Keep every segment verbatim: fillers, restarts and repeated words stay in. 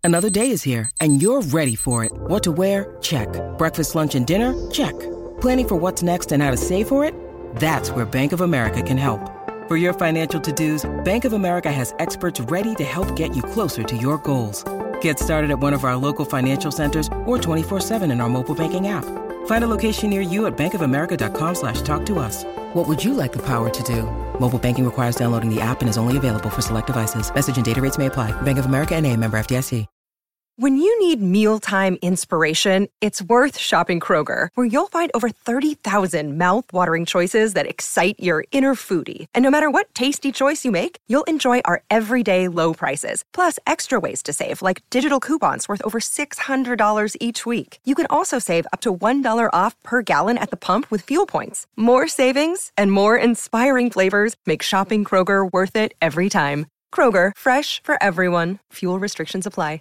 Another day is here, and you're ready for it. What to wear? Check. Breakfast, lunch, and dinner? Check. Planning for what's next and how to save for it? That's where Bank of America can help. For your financial to-dos, Bank of America has experts ready to help get you closer to your goals. Get started at one of our local financial centers or twenty-four seven in our mobile banking app. Find a location near you at bankofamerica.com slash talk to us. What would you like the power to do? Mobile banking requires downloading the app and is only available for select devices. Message and data rates may apply. Bank of America N A, member F D I C. When you need mealtime inspiration, it's worth shopping Kroger, where you'll find over thirty thousand mouth-watering choices that excite your inner foodie. And no matter what tasty choice you make, you'll enjoy our everyday low prices, plus extra ways to save, like digital coupons worth over six hundred dollars each week. You can also save up to one dollar off per gallon at the pump with fuel points. More savings and more inspiring flavors make shopping Kroger worth it every time. Kroger, fresh for everyone. Fuel restrictions apply.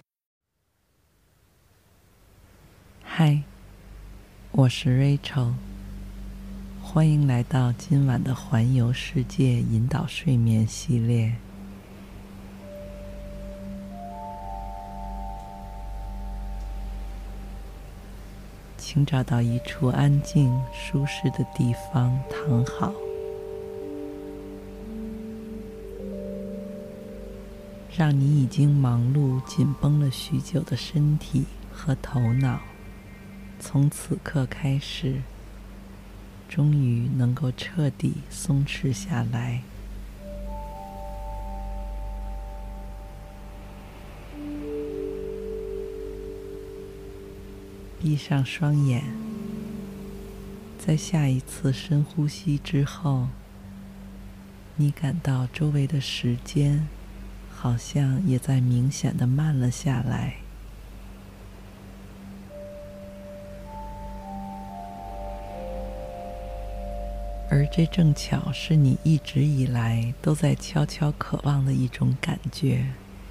嗨，我是 Rachel， 歡迎來到今晚的環遊世界引導睡眠系列。請找到一處安靜、舒適的地方躺好，讓你已經忙碌、緊繃了許久的身體和頭腦從此刻開始，終於能夠徹底鬆弛下來。閉上雙眼，在下一次深呼吸之後，你感到周圍的時間好像也在明顯地慢了下來。而這正巧是你一直以來都在悄悄渴望的一種感覺。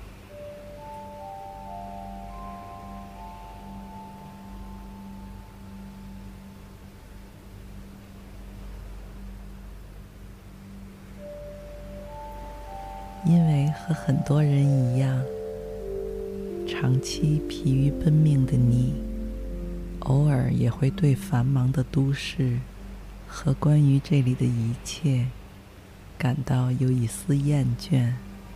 因為和很多人一樣，長期疲於奔命的你，偶爾也會對繁忙的都市和關於這裡的一切感到有一絲厭倦，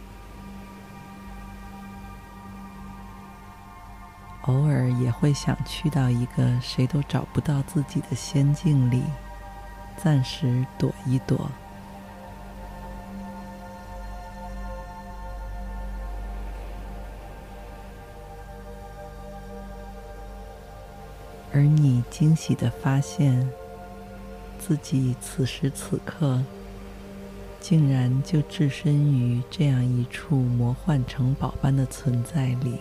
偶爾也會想去到一個誰都找不到自己的仙境裡，暫時躲一躲。而你驚喜地發現，自己此時此刻竟然就置身於這樣一處魔幻城堡般的存在裡。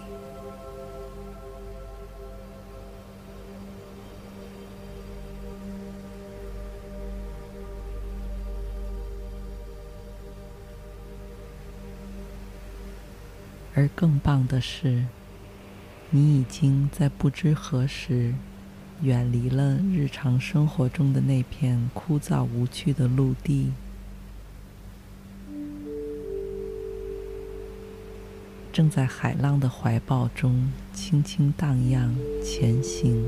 而更棒的是，你已經在不知何時遠離了日常生活中的那片枯燥無趣的陸地，正在海浪的懷抱中輕輕蕩漾前行。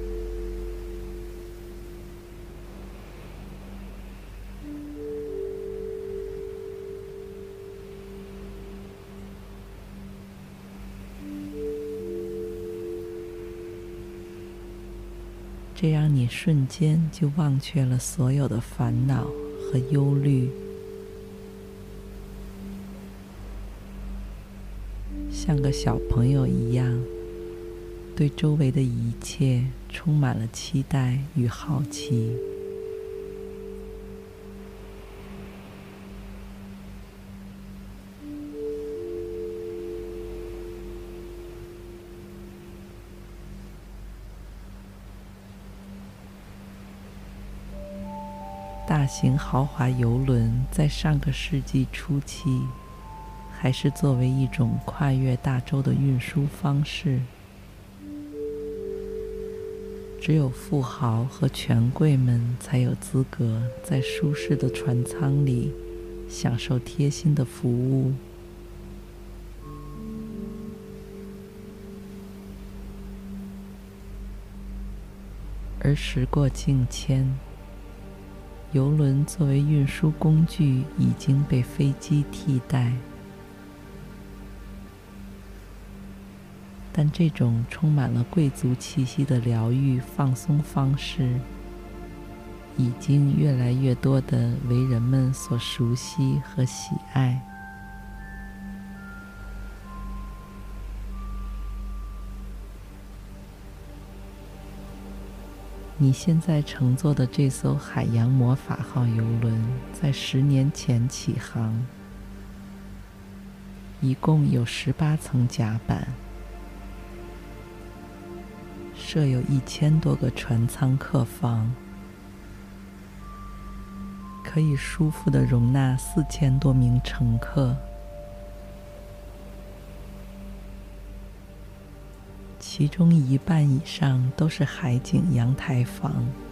這樣你瞬間就忘卻了所有的煩惱和憂慮，像個小朋友一樣，對周圍的一切充滿了期待與好奇。大型豪華郵輪在上個世紀初期，還是作為一種跨越大洲的運輸方式。只有富豪和權貴們才有資格在舒適的船艙裡享受貼心的服務。 而時過境遷，郵輪作為運輸工具已經被飛機替代。但這種充滿了貴族氣息的療癒放鬆方式，已經越來越多地為人們所熟悉和喜愛。你現在乘坐的這艘海洋魔法號郵輪，在十年前起航，一共有十八層甲板，設有一千多個船艙客房，可以舒服地容納四千多名乘客。其中一半以上都是海景陽台房，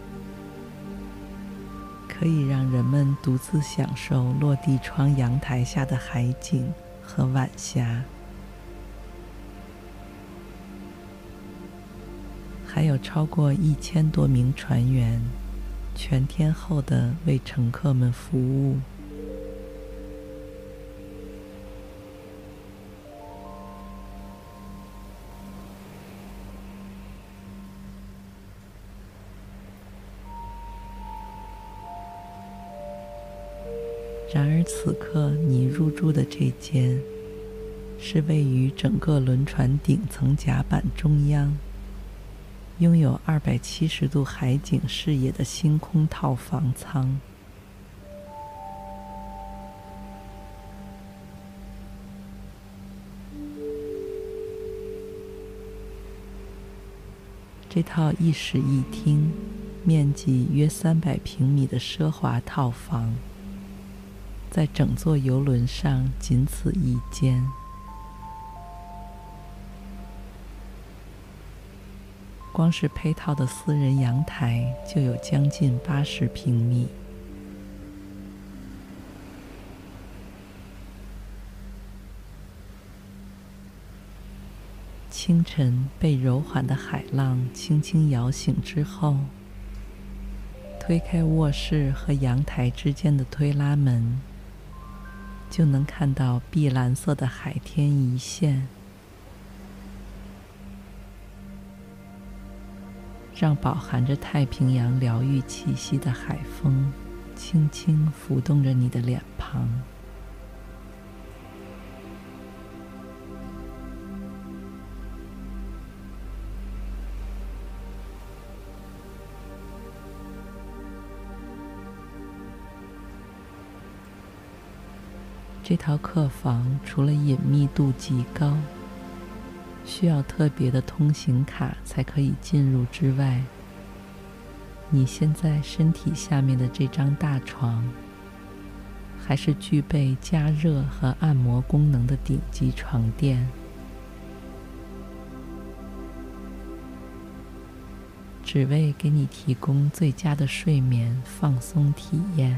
可以讓人們獨自享受落地窗陽台下的海景和晚霞。還有超過一千多名船員，全天候地為乘客們服務。然而此刻你入住的這間，是位於整個輪船頂層甲板中央，擁有二百七十度海景視野的星空套房艙。這套一室一廳、面積約三百平米的奢華套房，在整座郵輪上僅此一間。光是配套的私人陽台就有將近八十平米。清晨被柔緩的海浪輕輕搖醒之後，推開臥室和陽台之間的推拉門，就能看到碧藍色的海天一線，讓飽含着太平洋療癒氣息的海風輕輕拂動着你的臉龐。這套客房除了隱密度極高，需要特別的通行卡才可以進入之外，你現在身體下面的這張大床，還是具備加熱和按摩功能的頂級床墊。只為給你提供最佳的睡眠放鬆體驗。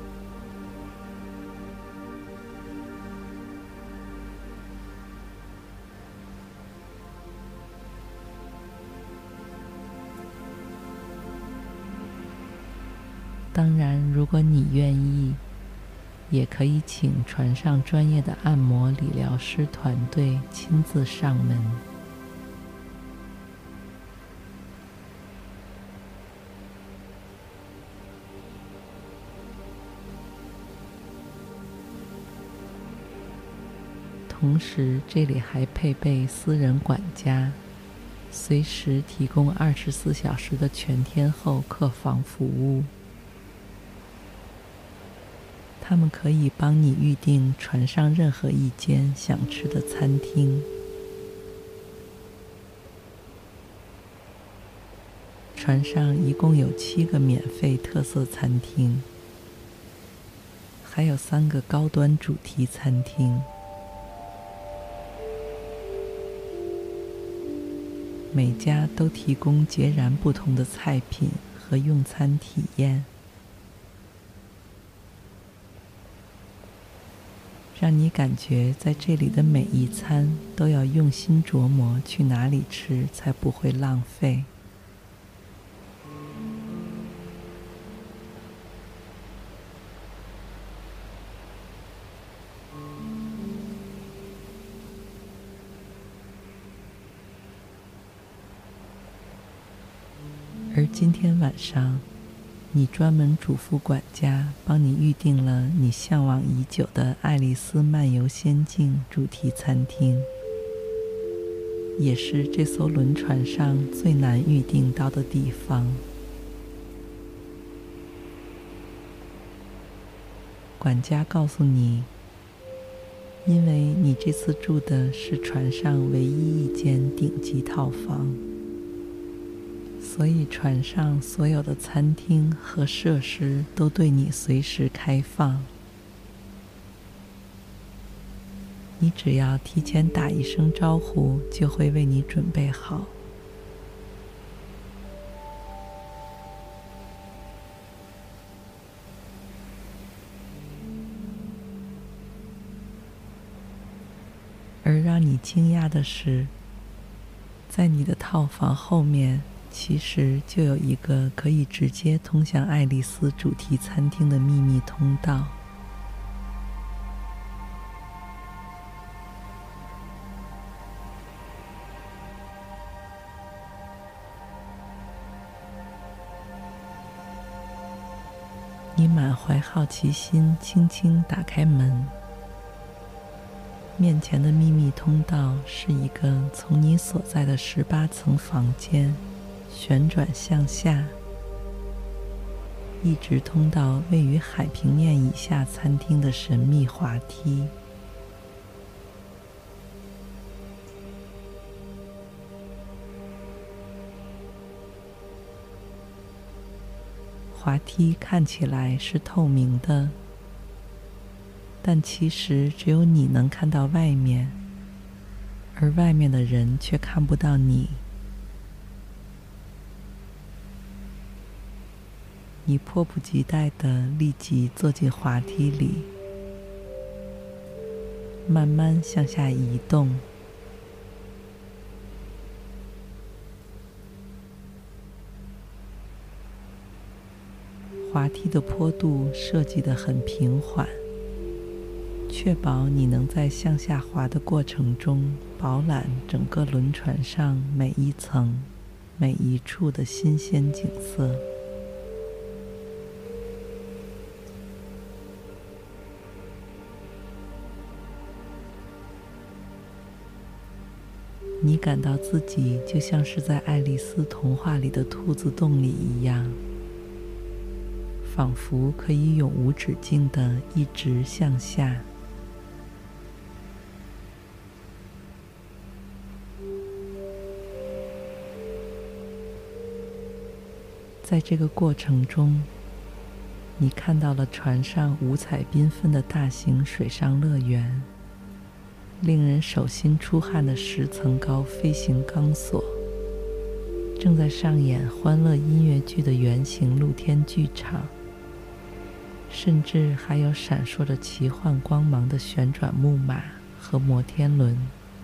當然，如果你願意，也可以請船上專業的按摩理療師團隊親自上門。同時，這裡還配備私人管家，隨時提供二十四小時的全天候客房服務。他們可以幫你預訂船上任何一間想吃的餐廳。船上一共有七個免費特色餐廳，還有三個高端主題餐廳。每家都提供截然不同的菜品和用餐體驗，讓你感覺在這裡的每一餐都要用心琢磨去哪裡吃才不會浪費。 而今天晚上，你專門囑咐管家幫你預定了你嚮往已久的愛麗絲漫遊仙境主題餐廳，也是這艘輪船上最難預定到的地方。管家告訴你，因為你這次住的是船上唯一一間頂級套房，所以船上所有的餐廳和設施都對你隨時開放。你只要提前打一聲招呼，就會為你準備好。而讓你驚訝的是，在你的套房後面，其實就有一個可以直接通向愛麗絲主題餐廳的秘密通道。你滿懷好奇心，輕輕打開門。面前的秘密通道是一個從你所在的十八層房間旋轉向下，一直通到位於海平面以下餐廳的神秘滑梯。滑梯看起來是透明的，但其實只有你能看到外面，而外面的人卻看不到你。你迫不及待地立即坐進滑梯裡，慢慢向下移動。滑梯的坡度設計得很平緩，確保你能在向下滑的過程中飽覽整個輪船上每一層、每一處的新鮮景色。你感到自己就像是在愛麗絲童話裡的兔子洞裡一樣，仿佛可以永無止境地一直向下。在這個過程中，你看到了船上五彩繽紛的大型水上樂園，令人手心出汗的十層高飛行鋼索，正在上演歡樂音樂劇的圓形露天劇場，甚至還有閃爍着奇幻光芒的旋轉木馬和摩天輪。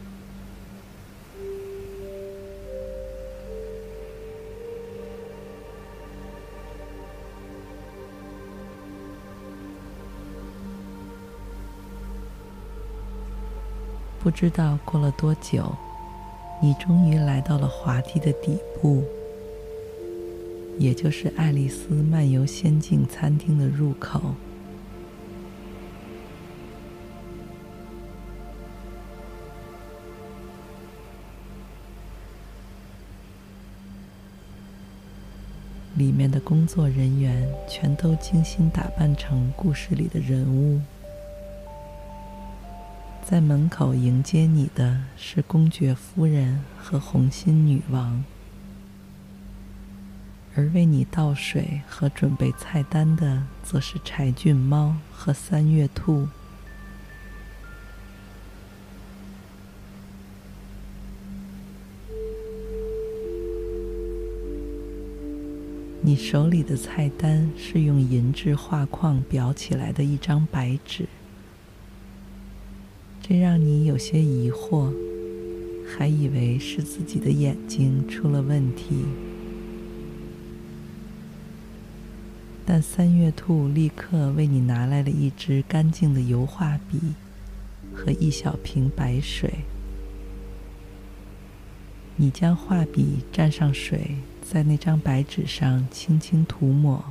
不知道過了多久，你終於來到了滑梯的底部，也就是愛麗絲漫遊仙境餐廳的入口。裡面的工作人員全都精心打扮成故事裡的人物。在門口迎接你的是公爵夫人和紅心女王，而為你倒水和準備菜單的則是柴郡貓和三月兔。你手裡的菜單是用銀質畫框裱起來的一張白紙，這讓你有些疑惑，還以為是自己的眼睛出了問題。但三月兔立刻為你拿來了一支乾淨的油畫筆和一小瓶白水。你將畫筆蘸上水， 在那張白紙上輕輕塗抹。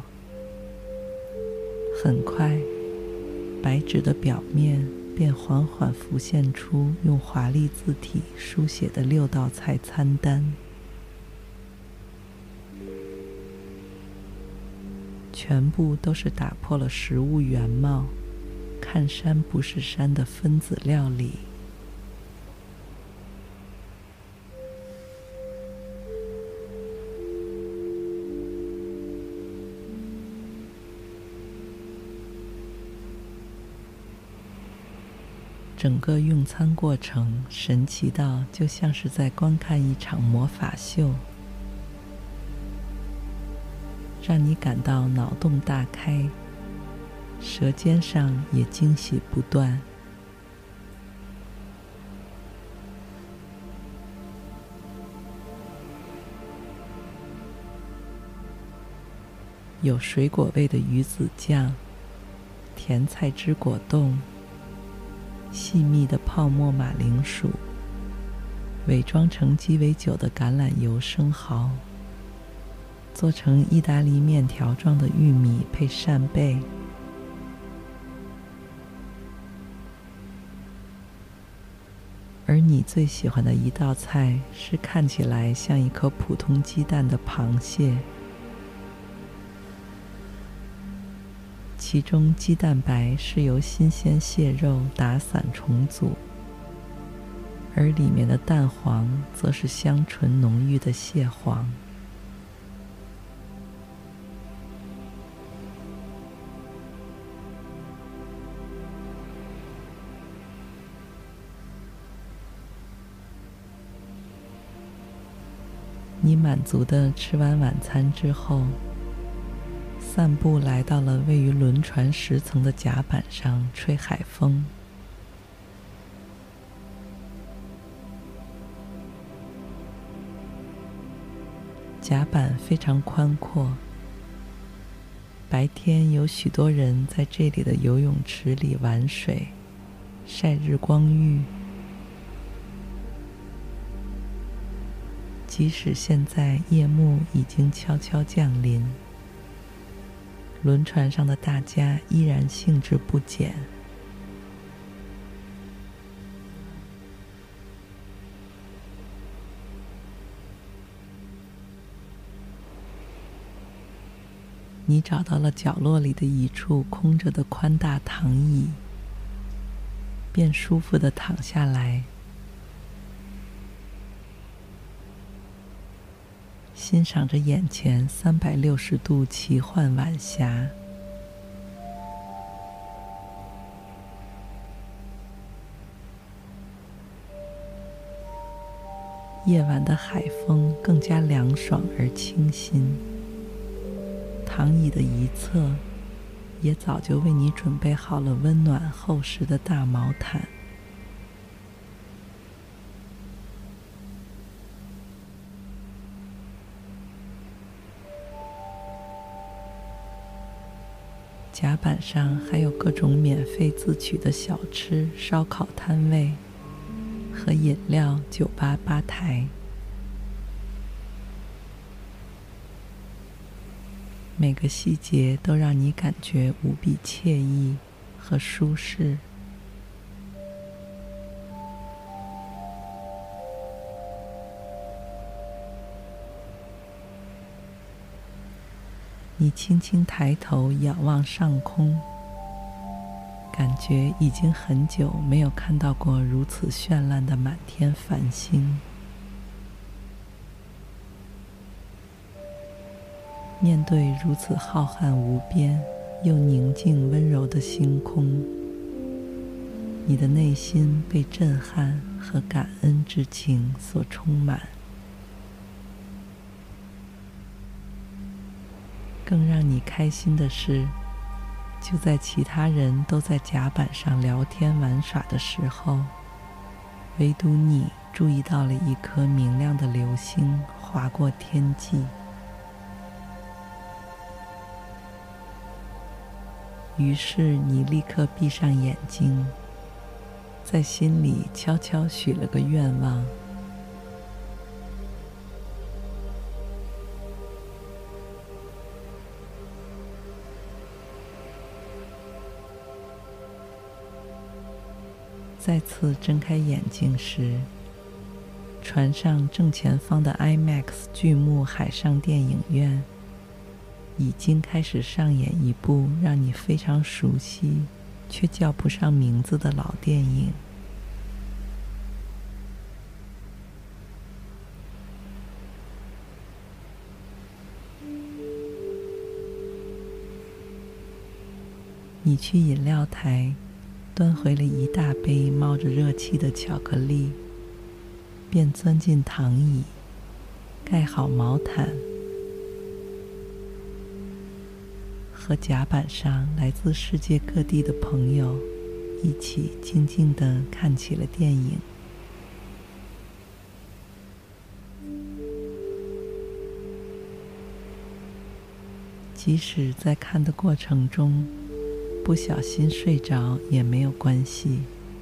很快，白紙的表面便緩緩浮現出用華麗字體書寫的六道菜餐單，全部都是打破了食物原貌，看山不是山的分子料理。整個用餐過程神奇到就像是在觀看一場魔法秀，讓你感到腦洞大開，舌尖上也驚喜不斷。有水果味的魚子醬，甜菜汁果凍，細密的泡沫馬鈴薯，偽裝成雞尾酒的橄欖油生蠔，做成意大利麵條狀的玉米配扇貝，而你最喜歡的一道菜是看起來像一顆普通雞蛋的螃蟹，其中雞蛋白是由新鮮蟹肉打散重組，而裡面的蛋黃則是香醇濃郁的蟹黃。你滿足地吃完晚餐之後，散步來到了位於輪船十層的甲板上吹海風。甲板非常寬闊，白天有許多人在這裡的游泳池裡玩水、曬日光浴。即使現在夜幕已經悄悄降臨，輪船上的大家依然興致不減。你找到了角落裡的一處空着的寬大躺椅，便舒服地躺下來，欣賞着眼前三百六十度奇幻晚霞。夜晚的海風更加涼爽而清新，躺椅的一側也早就為你準備好了溫暖厚實的大毛毯。甲板上還有各種免費自取的小吃、燒烤攤位和飲料酒吧吧台，每個細節都讓你感覺無比愜意和舒適。你輕輕抬頭仰望上空，感覺已經很久沒有看到過如此絢爛的滿天繁星。面對如此浩瀚無邊又寧靜溫柔的星空，你的內心被震撼和感恩之情所充滿。更讓你開心的是，就在其他人都在甲板上聊天玩耍的時候，唯獨你注意到了一顆明亮的流星劃過天際。於是你立刻閉上眼睛，在心裡悄悄許了個願望。 再次睜開眼睛時，船上正前方的 IMAX 巨幕海上電影院已經開始上演一部讓你非常熟悉卻叫不上名字的老電影。你去飲料台端回了一大杯冒着熱氣的巧克力，便鑽進躺椅，蓋好毛毯，和甲板上來自世界各地的朋友一起靜靜地看起了電影。即使在看的過程中不小心睡着也沒有關係，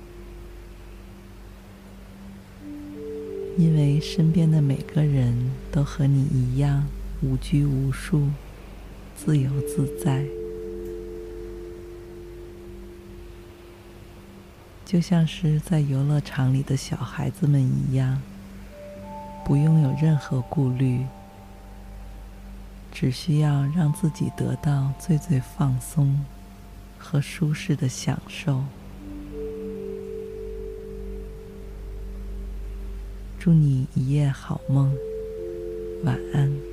因為身邊的每個人都和你一樣無拘無束，自由自在，就像是在遊樂場裡的小孩子們一樣，不用有任何顧慮，只需要讓自己得到最最放鬆和舒適的享受。祝你一夜好夢，晚安。